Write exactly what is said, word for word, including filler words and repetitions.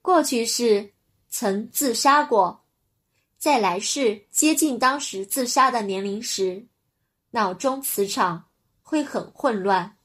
过去世曾自杀过，在来世接近当时自杀的年龄时，脑中磁场会很混乱，